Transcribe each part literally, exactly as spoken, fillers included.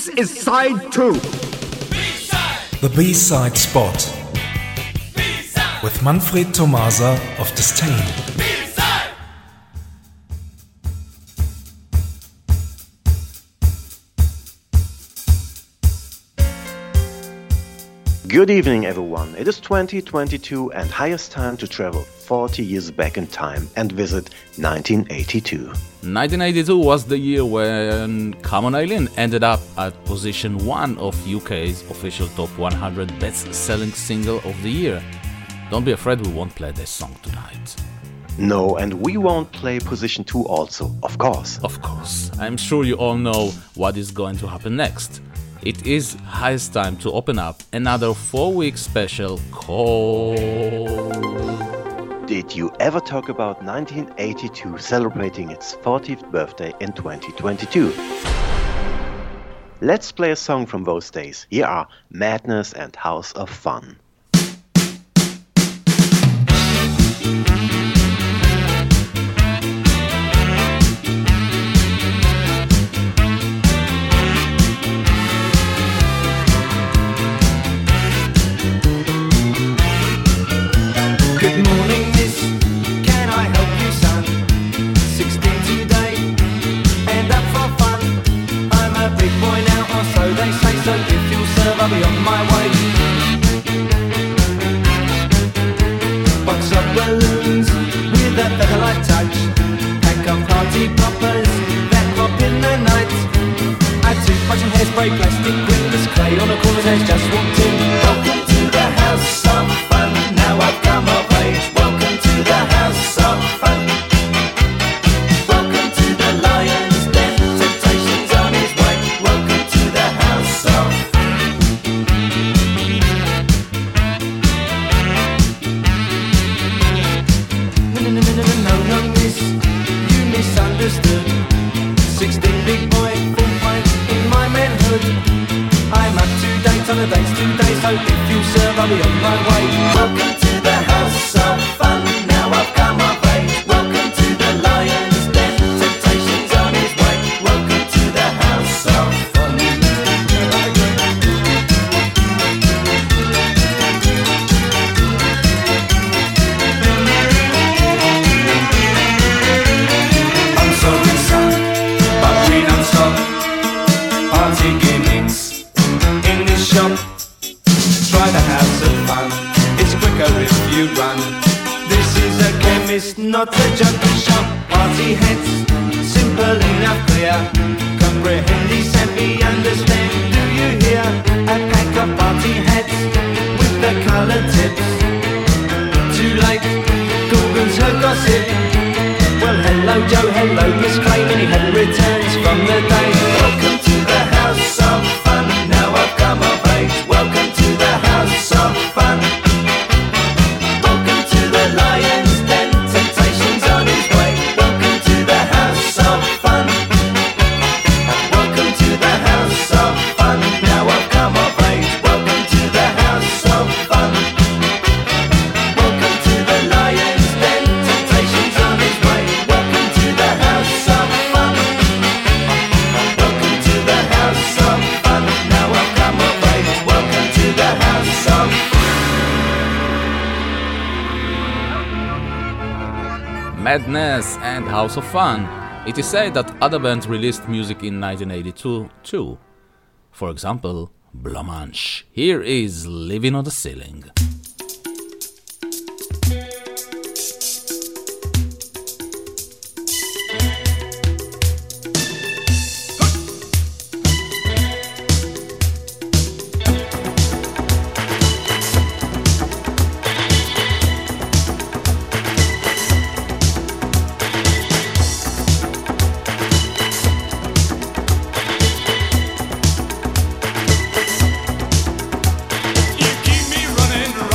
This is side two. B-side. The B-side spot. B-side. With Manfred Tomasa of Disdain. B-side. Good evening, everyone. It is twenty twenty-two and highest time to travel forty years back in time and visit nineteen eighty-two. nineteen eighty-two was the year when Come On Eileen ended up at position one of U K's official top one hundred best-selling single of the year. Don't be afraid, we won't play this song tonight. No, and we won't play position two also, of course. Of course. I'm sure you all know what is going to happen next. It is highest time to open up another four-week special called... Did you ever talk about nineteen eighty-two celebrating its fortieth birthday in twenty twenty-two? Let's play a song from those days. Here are Madness and House of Fun. I'll be on my way. Box of balloons with a feather-light touch. Pack of party poppers that pop in the night. Add toothbrush and hairspray, plastic windows, clay on a corner's edge, just walked in. Welcome to the house of fun. Now I've come of age. Welcome to the house of fun. Welcome to the lion's den. Temptation's on his way. Welcome to the house of fun. Misunderstood. Sixteen big boy, full pint in my manhood. I'm up to date on the dates today, so if you serve, I'll be on my way. Welcome to the house of fun. Now I've come of age. Welcome to the lion's den. Temptation's on his way. Welcome to the house of fun. Party gimmicks in this shop. Try the house of fun. It's quicker if you run. This is a chemist, not a junkie shop. Party heads, simple enough, clear. Comprehend these and we understand. Do you hear? A pack of party heads with the colored tips. Too late, Google's her gossip. Well, hello Joe, hello Miss Clay. Many had returns from the day. Welcome to the house of fun. Now I've come of age. Welcome to the house of fun. Welcome to the lion's den. Temptation's on his way. Welcome to the house of fun. Welcome to the house of fun. Now I've come of age. Welcome to the house of fun. Welcome to the lion's den. Temptation's on his way. Welcome to the house of fun. Welcome to the house of fun. Now I've come of age. Welcome to the house of Madness and House of Fun. It is said that other bands released music in nineteen eighty-two too. For example, Blanche. Here is Living on the Ceiling. You keep me running,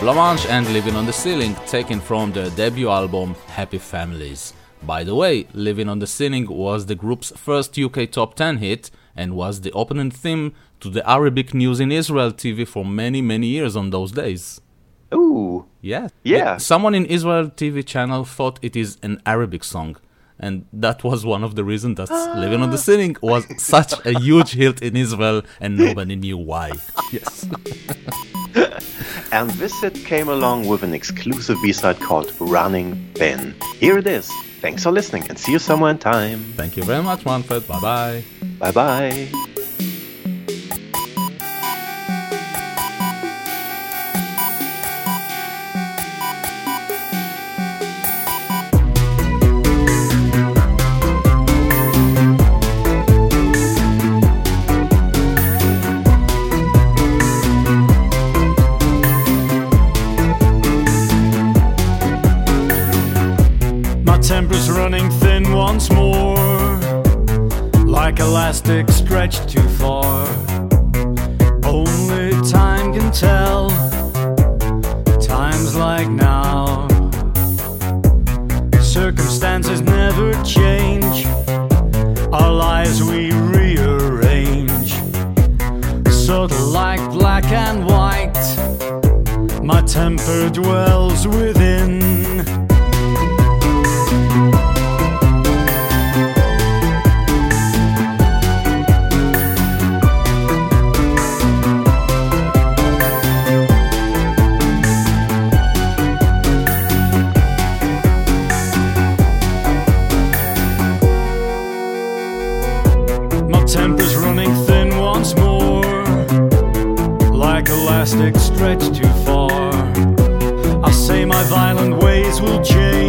Blancmange and Living on the Ceiling, taken from their debut album Happy Families. By the way, Living on the Ceiling was the group's first U K top ten hit and was the opening theme to the Arabic News in Israel T V for many, many years on those days. Ooh. Yeah. Yeah. Someone in Israel T V channel thought it is an Arabic song. And that was one of the reasons that ah. Living on the Ceiling was such a huge hit in Israel and nobody knew why. Yes. And this hit came along with an exclusive B-side called Running Ben. Here it is. Thanks for listening and see you somewhere in time. Thank you very much, Manfred. Bye-bye. Bye-bye. Temper's running thin once more, like elastic stretched too far. Only time can tell, times like now. Circumstances never change, our lives we rearrange. Subtle like black and white, my temper dwells within. Temper's running thin once more, like elastic stretched too far. I say my violent ways will change.